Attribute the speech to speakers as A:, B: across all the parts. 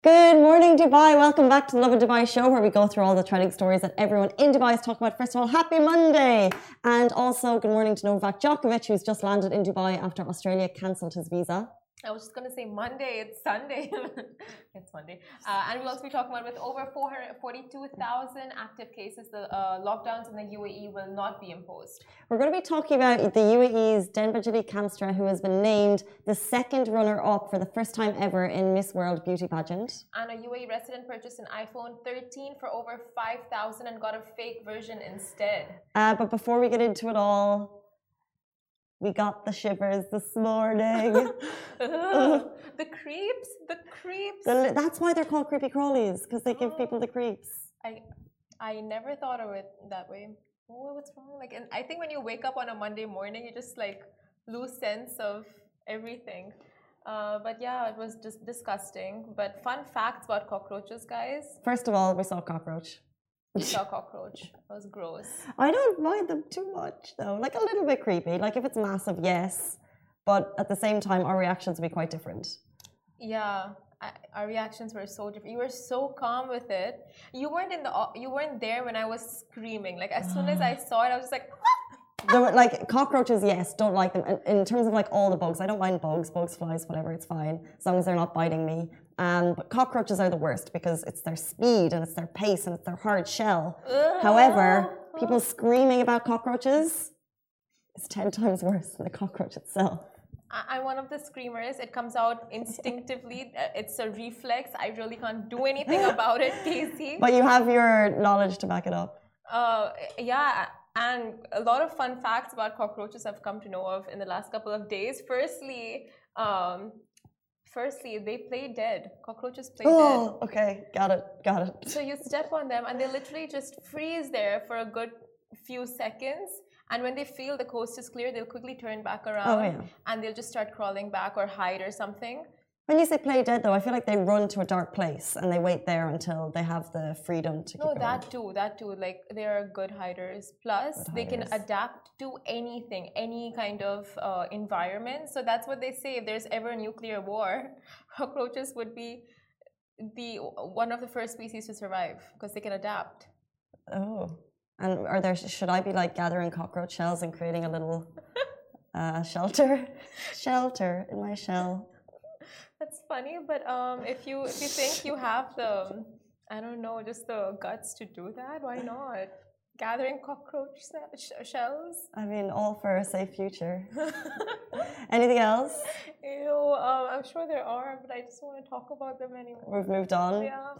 A: Good morning, Dubai. Welcome back to the Love in Dubai show where we go through all the trending stories that everyone in Dubai is talking about. First of all, happy Monday. And also, good morning to Novak Djokovic, who's just landed in Dubai after Australia cancelled his visa.
B: I was just going to say Monday, it's Sunday. It's Monday. And we'll also be talking about with over 442,000 active cases, the lockdowns in the UAE will not be imposed.
A: We're going to be talking about the UAE's Denbajali Kamstra, who has been named the second runner-up for the first time ever in Miss World Beauty Pageant.
B: And a UAE resident purchased an iPhone 13 for over 5,000 and got a fake version instead.
A: But before we get into it all, we got the shivers this morning.
B: The creeps.
A: That's why they're called creepy crawlies, because they give people the creeps.
B: I never thought of it that way. Oh, what's wrong? Like, and I think when you wake up on a Monday morning, you just like lose sense of everything. But yeah, it was just disgusting. But fun facts about cockroaches, guys.
A: First of all, we saw a cockroach.
B: We saw a cockroach. It was gross.
A: I don't mind them too much, though. Like a little bit creepy. Like if it's massive, yes. But at the same time, our reactions will be quite different.
B: Yeah, our reactions were so different. You were so calm with it. You weren't there when I was screaming. Like as soon as I saw it, I was just like.
A: Like cockroaches, yes, don't like them. In terms of like all the bugs, I don't mind bugs, flies, whatever, it's fine as long as they're not biting me. But cockroaches are the worst because it's their speed and it's their pace and it's their hard shell. However, people screaming about cockroaches is 10 times worse than the cockroach itself.
B: I'm one of the screamers. It comes out instinctively. It's a reflex. I really can't do anything about it, Casey.
A: But you have your knowledge to back it up.
B: Yeah. And a lot of fun facts about cockroaches I've come to know of in the last couple of days. Firstly, they play dead. Cockroaches play dead.
A: Oh, okay. Got it.
B: So you step on them and they literally just freeze there for a good few seconds. And when they feel the coast is clear, they'll quickly turn back around and they'll just start crawling back or hide or something.
A: When you say play dead, though, I feel like they run to a dark place and they wait there until they have the freedom to keep going.
B: That too. Like, they are good hiders. Plus, they can adapt to anything, any kind of environment. So that's what they say. If there's ever a nuclear war, cockroaches would be one of the first species to survive because they can adapt.
A: Oh. And should I be like gathering cockroach shells and creating a little shelter in my shell?
B: That's funny, but if you think you have the, I don't know, just the guts to do that, why not? Gathering cockroach shells?
A: I mean, all for a safe future. Anything else?
B: I'm sure there are, but I just don't want to talk about them anymore.
A: We've moved on.
B: Yeah.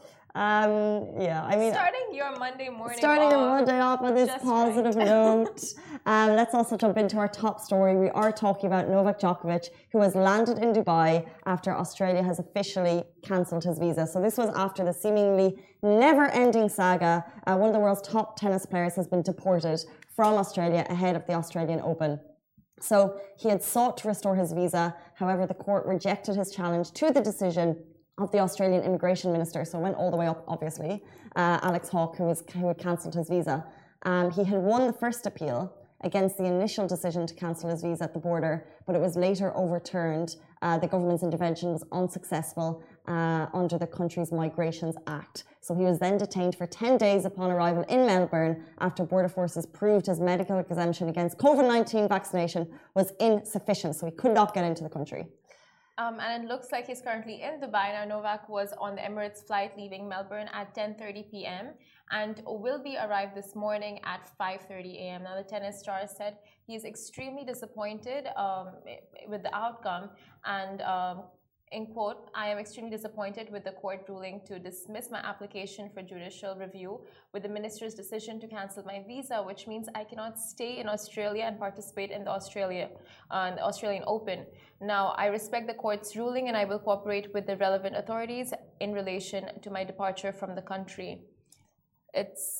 A: I mean,
B: starting your Monday
A: off on this positive note. Let's also jump into our top story. We are talking about Novak Djokovic, who has landed in Dubai after Australia has officially cancelled his visa. So this was after the seemingly never-ending saga. One of the world's top tennis players has been deported from Australia ahead of the Australian Open. So he had sought to restore his visa. However, the court rejected his challenge to the decision of the Australian immigration minister. So it went all the way up, obviously, Alex Hawke, who had cancelled his visa. He had won the first appeal against the initial decision to cancel his visa at the border, but it was later overturned. The government's intervention was unsuccessful under the country's Migrations Act. So he was then detained for 10 days upon arrival in Melbourne after border forces proved his medical exemption against COVID-19 vaccination was insufficient. So he could not get into the country.
B: And it looks like he's currently in Dubai. Now, Novak was on the Emirates flight leaving Melbourne at 10:30 p.m. and will be arrived this morning at 5:30 a.m. Now, the tennis star said he is extremely disappointed with the outcome and in quote, I am extremely disappointed with the court ruling to dismiss my application for judicial review with the minister's decision to cancel my visa, which means I cannot stay in Australia and participate in the Australian Open. Now, I respect the court's ruling and I will cooperate with the relevant authorities in relation to my departure from the country. It's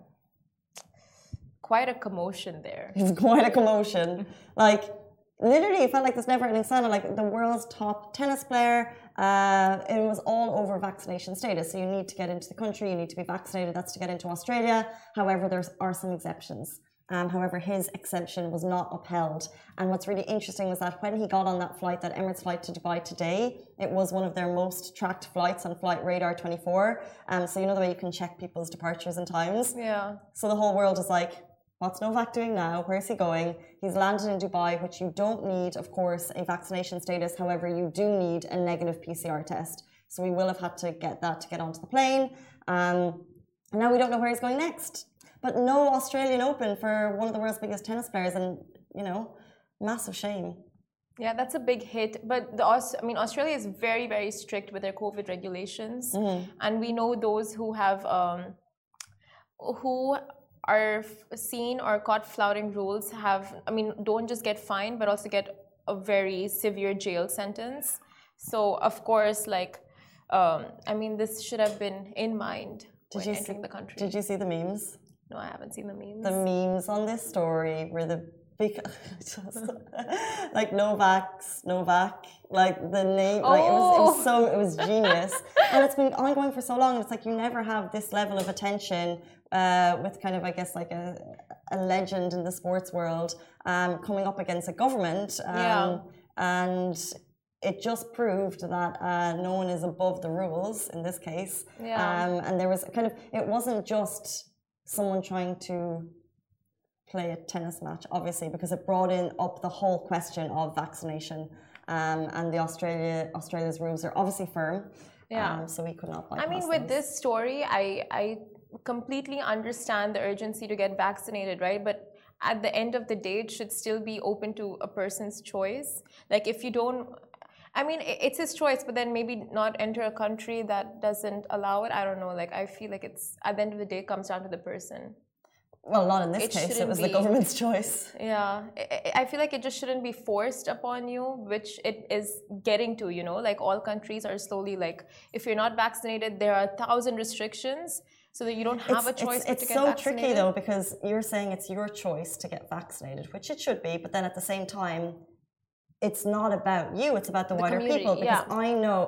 B: quite a commotion there.
A: It's quite a commotion. Like, literally, it felt like this never-ending saga. Like the world's top tennis player, it was all over vaccination status. So you need to get into the country, you need to be vaccinated. That's to get into Australia. However, there are some exceptions. However, his exemption was not upheld. And what's really interesting was that when he got on that flight, that Emirates flight to Dubai today, it was one of their most tracked flights on Flight Radar 24. So you know the way you can check people's departures and times?
B: Yeah.
A: So the whole world is like, what's Novak doing now? Where's he going? He's landed in Dubai, which you don't need, of course, a vaccination status. However, you do need a negative PCR test. So we will have had to get that to get onto the plane. And now we don't know where he's going next. But no Australian Open for one of the world's biggest tennis players, and massive shame.
B: Yeah, that's a big hit. But Australia is very, very strict with their COVID regulations, and we know those who have who are seen or caught flouting rules don't just get fined, but also get a very severe jail sentence. So of course, this should have been in mind when entering the country.
A: Did you see the memes?
B: No, I haven't seen the memes.
A: The memes on this story were the big, like Novak, like the name, it was genius, and it's been ongoing for so long. It's like you never have this level of attention with kind of, I guess, like a legend in the sports world coming up against a government, and it just proved that no one is above the rules in this case. And there was it wasn't just someone trying to play a tennis match, obviously, because it brought up the whole question of vaccination. And Australia's rules are obviously firm. So we could not bypass
B: with this story, I completely understand the urgency to get vaccinated, right? But at the end of the day, it should still be open to a person's choice. Like if you don't, it's his choice, but then maybe not enter a country that doesn't allow it. I don't know. I feel like it's, at the end of the day, it comes down to the person.
A: Well, not in this case. It was the government's choice.
B: Yeah. I feel like it just shouldn't be forced upon you, which it is getting to, all countries are slowly if you're not vaccinated, there are 1,000 restrictions, so that you don't have a choice to get vaccinated.
A: It's so tricky, though, because you're saying it's your choice to get vaccinated, which it should be, but then at the same time, it's not about you, it's about the wider people. Because I know,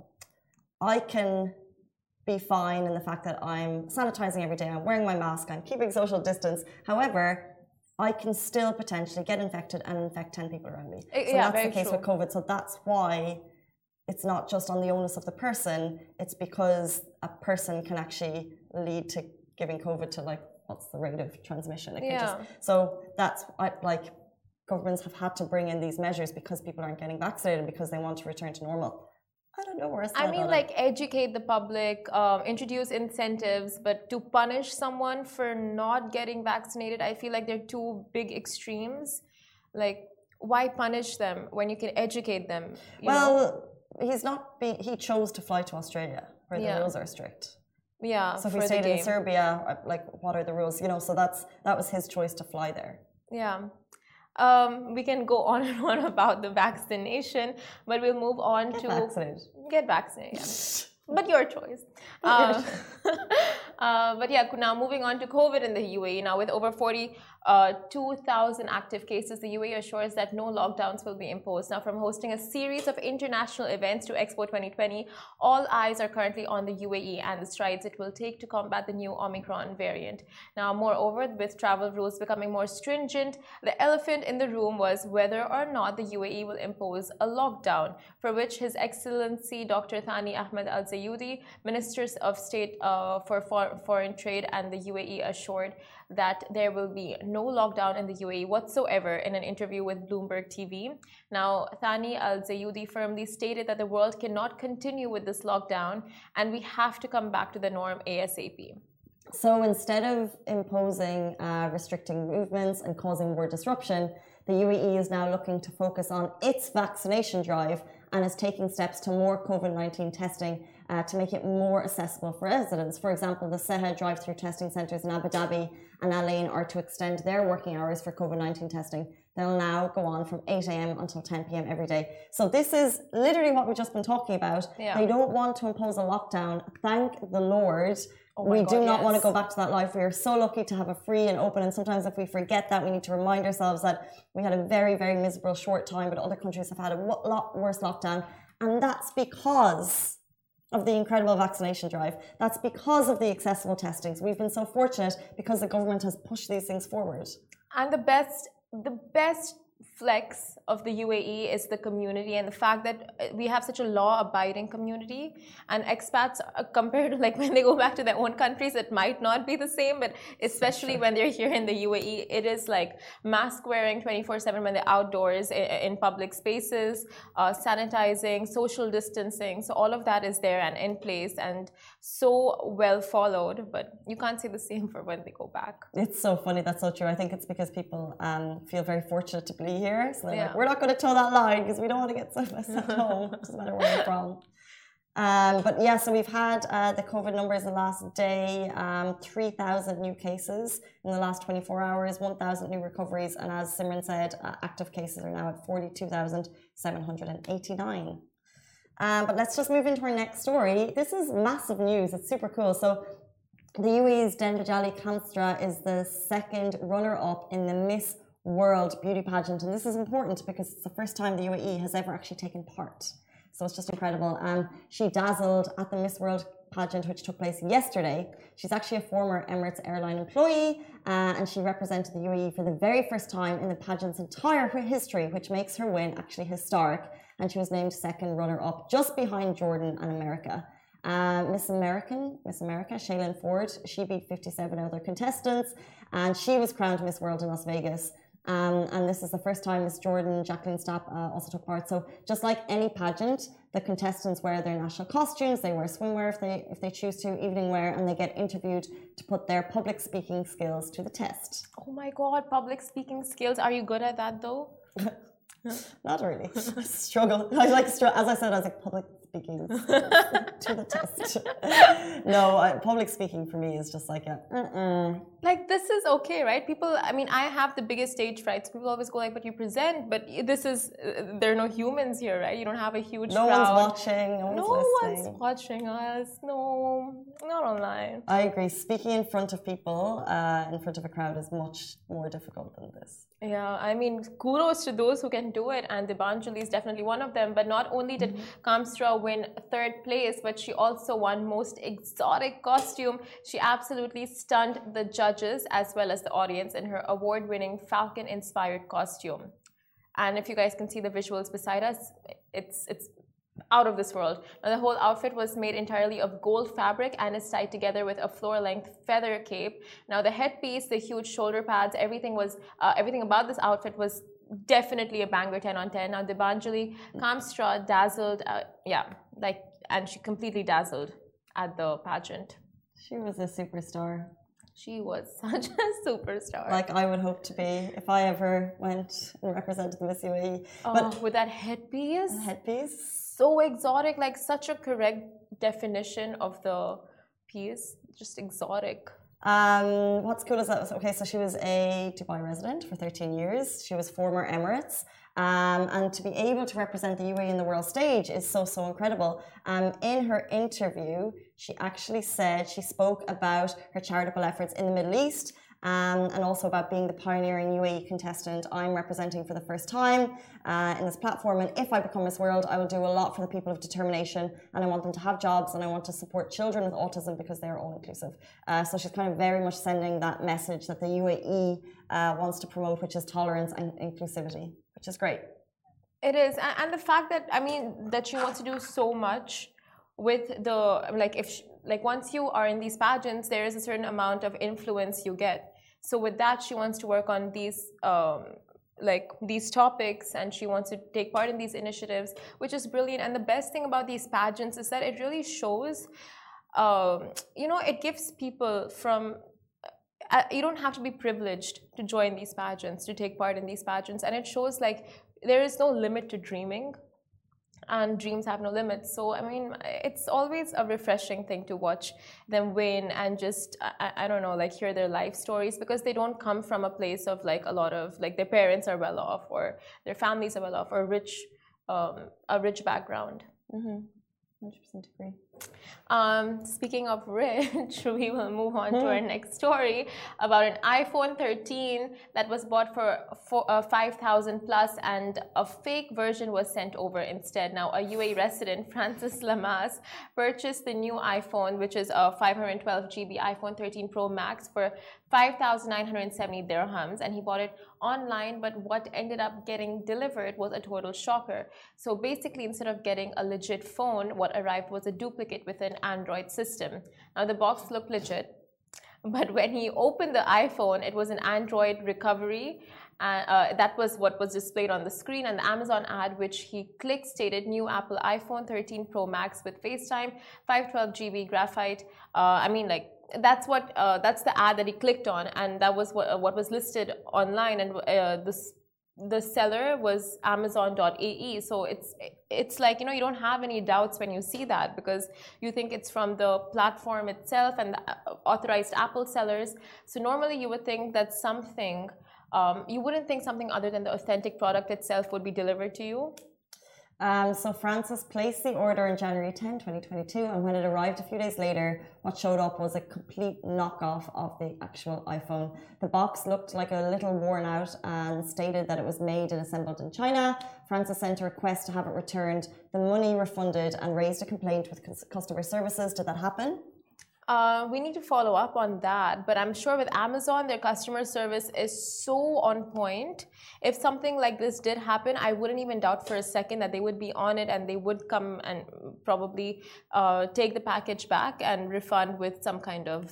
A: I can be fine in the fact that I'm sanitizing every day, I'm wearing my mask, I'm keeping social distance. However, I can still potentially get infected and infect 10 people around me. So that's the case with COVID. So that's why it's not just on the onus of the person, it's because a person can actually lead to giving COVID to what's the rate of transmission? So that's governments have had to bring in these measures because people aren't getting vaccinated, because they want to return to normal. I don't know where it's
B: educate the public, introduce incentives, but to punish someone for not getting vaccinated, I feel like they're two big extremes. Why punish them when you can educate them?
A: He chose to fly to Australia where the rules are strict.
B: Yeah.
A: So if he stayed in Serbia, what are the rules? So that was his choice to fly there.
B: Yeah. We can go on and on about the vaccination, but we'll move on to get vaccinated. But your choice. But now moving on to COVID in the UAE. Now, with over 42,000 active cases, the UAE assures that no lockdowns will be imposed. Now, from hosting a series of international events to Expo 2020, all eyes are currently on the UAE and the strides it will take to combat the new Omicron variant. Now, moreover, with travel rules becoming more stringent, the elephant in the room was whether or not the UAE will impose a lockdown, for which His Excellency Dr. Thani Ahmed Al Zayudi, Minister of State for Foreign Trade and the UAE, assured that there will be no lockdown in the UAE whatsoever in an interview with Bloomberg TV. Now, Thani Al Zayudi firmly stated that the world cannot continue with this lockdown and we have to come back to the norm ASAP.
A: So instead of imposing restricting movements and causing more disruption, the UAE is now looking to focus on its vaccination drive and is taking steps to more COVID-19 testing to make it more accessible for residents. For example, the SEHA drive-through testing centres in Abu Dhabi and Al Ain are to extend their working hours for COVID-19 testing. They'll now go on from 8 a.m. until 10 p.m. every day. So this is literally what we've just been talking about.
B: Yeah.
A: They don't want to impose a lockdown. Thank the Lord. We do not want to go back to that life. We are so lucky to have a free and open, and sometimes if we forget that, we need to remind ourselves that we had a very, very miserable short time, but other countries have had a lot worse lockdown. And that's because of the incredible vaccination drive. That's because of the accessible testings. We've been so fortunate because the government has pushed these things forward.
B: And the best flex of the UAE is the community and the fact that we have such a law-abiding community, and expats compared to like when they go back to their own countries, it might not be the same, but especially when they're here in the UAE, it is like mask wearing 24/7 when they're outdoors in public spaces, sanitizing, social distancing. So all of that is there and in place and so well followed, but you can't say the same for when they go back.
A: It's so funny. That's so true. I think it's because people feel very fortunate to be here. So they're like, we're not going to toe that line because we don't want to get sent home. It doesn't matter where you're from. But yeah, so we've had the COVID numbers the last day, 3,000 new cases in the last 24 hours, 1,000 new recoveries. And as Simran said, active cases are now at 42,789. But let's just move into our next story. This is massive news. It's super cool. So the UAE's Dendajali Kamstra is the second runner-up in the Miss World beauty pageant. And this is important because it's the first time the UAE has ever actually taken part. So it's just incredible. She dazzled at the Miss World pageant, which took place yesterday. She's actually a former Emirates airline employee, and she represented the UAE for the very first time in the pageant's entire history, which makes her win actually historic. And she was named second runner-up, just behind Jordan and America. Miss America, Shailene Ford, she beat 57 other contestants, and she was crowned Miss World in Las Vegas. And this is the first time Miss Jordan, Jacqueline Stapp also took part. So just like any pageant, the contestants wear their national costumes, they wear swimwear if they choose to, evening wear, and they get interviewed to put their public speaking skills to the test.
B: Oh my God, public speaking skills. Are you good at that though?
A: Not really. I struggle. As I said, I was like public speaking to the test. No, public speaking for me is just like
B: like this is okay, right? People, I mean, I have the biggest stage frights. People always go like, but you present, but this is, there are no humans here, right? You don't have a huge crowd.
A: No one's watching, no
B: one's watching us. No, not online.
A: I agree. Speaking in front of people, in front of a crowd is much more difficult than this.
B: Yeah, I mean, kudos to those who can do it, and Debanjali is definitely one of them. But not only did Kamstra win third place, but she also won most exotic costume. She absolutely stunned the judges as well as the audience in her award-winning Falcon-inspired costume. And if you guys can see the visuals beside us, it's out of this world. Now, the whole outfit was made entirely of gold fabric and is tied together with a floor-length feather cape. Now, the headpiece, the huge shoulder pads, everything about this outfit was definitely a banger 10 on 10. Now, Debanjali Kamstra dazzled, and she completely dazzled at the pageant.
A: She was a superstar.
B: She was such a superstar.
A: Like I would hope to be if I ever went and represented the Miss UAE.
B: But with that headpiece. So exotic, like such a correct definition of the piece. Just exotic.
A: What's cool is that, okay, so she was a Dubai resident for 13 years. She was former Emirates. And to be able to represent the UAE in the world stage is so incredible. In her interview, she actually said, she spoke about her charitable efforts in the Middle East, and also about being the pioneering UAE contestant I'm representing for the first time in this platform. And if I become Miss World, I will do a lot for the people of determination, and I want them to have jobs, and I want to support children with autism because they are all inclusive. So she's kind of very much sending that message that the UAE wants to promote, which is tolerance and inclusivity, which is great.
B: It is, and the fact that, I mean, that she wants to do so much with the, once you are in these pageants, there is a certain amount of influence you get. So with that, she wants to work on these these topics, and she wants to take part in these initiatives, which is brilliant. And the best thing about these pageants is that it really shows, it gives people from, you don't have to be privileged to join these pageants, to take part in these pageants. And it shows like there is no limit to dreaming, and dreams have no limits. So, I mean, it's always a refreshing thing to watch them win and just, I don't know, like hear their life stories, because they don't come from a place of like a lot of, like their parents are well off or their families are well off or a rich background.
A: 100% agree.
B: Speaking of rich, we will move on to our next story about an iPhone 13 that was bought for 5,000 plus, and a fake version was sent over instead. Now, a UAE resident, Francis Lamas, purchased the new iPhone, which is a 512 GB iPhone 13 Pro Max, for 5,970 dirhams, and he bought it online. But what ended up getting delivered was a total shocker. So basically, instead of getting a legit phone, what arrived was a duplicate with an Android system. Now, the box looked legit, but when he opened the iPhone, it was an Android recovery. That was what was displayed on the screen, and the Amazon ad which he clicked stated new Apple iPhone 13 Pro Max with FaceTime, 512 GB graphite. That's the ad that he clicked on, and that was what was listed online, and the seller was Amazon.ae. So it's like, you don't have any doubts when you see that, because you think it's from the platform itself and the authorized Apple sellers. So normally you would think that something, you wouldn't think something other than the authentic product itself would be delivered to you.
A: So Francis placed the order on January 10, 2022, and when it arrived a few days later, what showed up was a complete knockoff of the actual iPhone. The box looked like a little worn out and stated that it was made and assembled in China. Francis sent a request to have it returned, the money refunded, and raised a complaint with customer services. Did that happen?
B: We need to follow up on that, but I'm sure with Amazon, their customer service is so on point. If something like this did happen, I wouldn't even doubt for a second that they would be on it, and they would come and probably take the package back and refund with some kind of,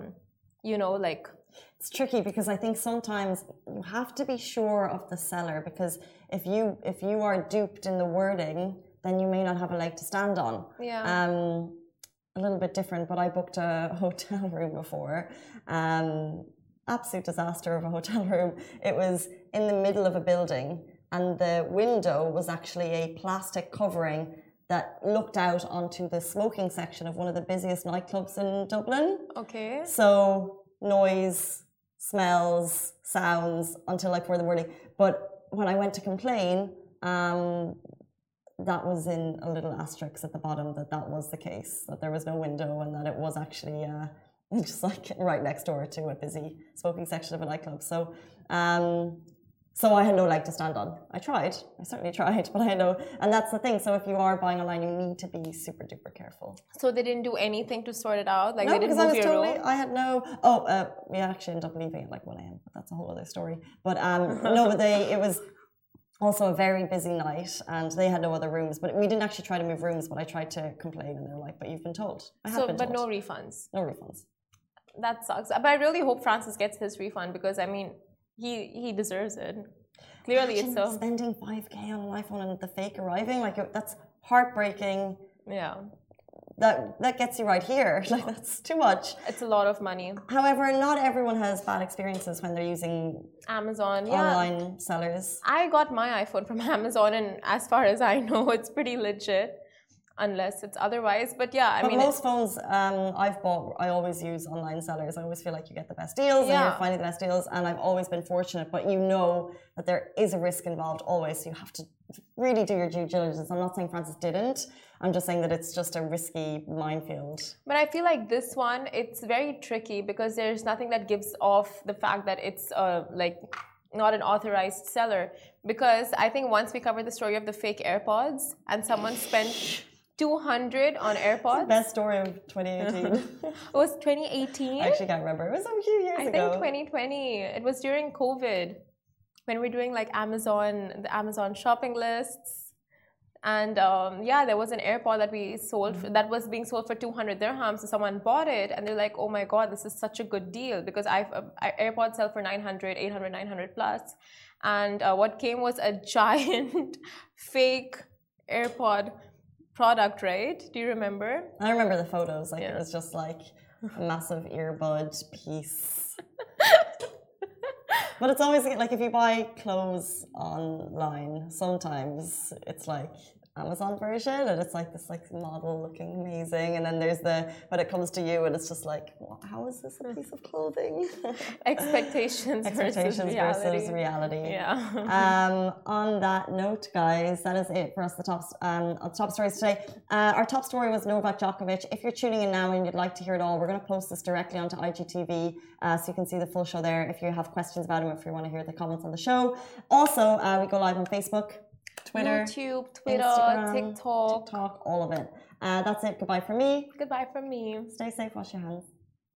A: It's tricky, because I think sometimes you have to be sure of the seller, because if you are duped in the wording, then you may not have a leg to stand on.
B: Yeah.
A: A little bit different, but I booked a hotel room before. Absolute disaster of a hotel room. It was in the middle of a building, and the window was actually a plastic covering that looked out onto the smoking section of one of the busiest nightclubs in Dublin.
B: Okay.
A: So noise, smells, sounds, until like for the morning. But when I went to complain, that was in a little asterisk at the bottom that was the case, that there was no window, and that it was actually just like right next door to a busy smoking section of a nightclub. So I had no leg to stand on. I certainly tried, but I had no, and that's the thing. So if you are buying online, you need to be super duper careful.
B: So they didn't do anything to sort it out? Like,
A: no,
B: they didn't move your room?
A: I had no, we actually ended up leaving at like 1 a.m, but that's a whole other story. But no, but it was also a very busy night, and they had no other rooms. But we didn't actually try to move rooms, but I tried to complain, and they were like, but you've been told.
B: But no refunds?
A: No refunds.
B: That sucks. But I really hope Francis gets his refund, because, I mean, he deserves it. Clearly, it's so.
A: Spending 5K on an iPhone and the fake arriving, like, that's heartbreaking.
B: Yeah.
A: That gets you right here. Like, that's too much.
B: It's a lot of money.
A: However, not everyone has bad experiences when they're using
B: Amazon,
A: online sellers.
B: I got my iPhone from Amazon, and as far as I know, it's pretty legit, unless it's otherwise. But yeah, I mean,
A: most phones I've bought, I always use online sellers. I always feel like you get the best deals, and you're finding the best deals. And I've always been fortunate, but you know that there is a risk involved always. So you have to really do your due diligence. I'm not saying Francis didn't. I'm just saying that it's just a risky minefield.
B: But I feel like this one, it's very tricky, because there's nothing that gives off the fact that it's not an authorized seller. Because I think once we covered the story of the fake AirPods, and someone spent 200 on AirPods.
A: It's the best story of 2018.
B: It was 2018?
A: I actually can't remember. It was a few years ago.
B: I think 2020. It was during COVID, when we were doing like the Amazon shopping lists. And there was an AirPod that we sold that was being sold for 200 dirhams. So someone bought it, and they're like, "Oh my god, this is such a good deal," because AirPods sell for 900, 800, 900 plus, and what came was a giant fake AirPod product, right? Do you remember?
A: I remember the photos. It was just like a massive earbud piece. But it's always like, if you buy clothes online, sometimes it's like Amazon version, and it's like this like model looking amazing, and then there's the when it comes to you, and it's just like, how is this a piece of clothing?
B: Expectations versus
A: reality.
B: Yeah.
A: On that note, guys, that is it for us. The top stories today. Our top story was Novak Djokovic. If you're tuning in now and you'd like to hear it all, we're going to post this directly onto IGTV, so you can see the full show there. If you have questions about him, if you want to hear the comments on the show, also we go live on Facebook, Twitter,
B: YouTube, Twitter,
A: Instagram,
B: TikTok,
A: all of it. That's it. Goodbye from me.
B: Goodbye from me.
A: Stay safe. Wash your hands.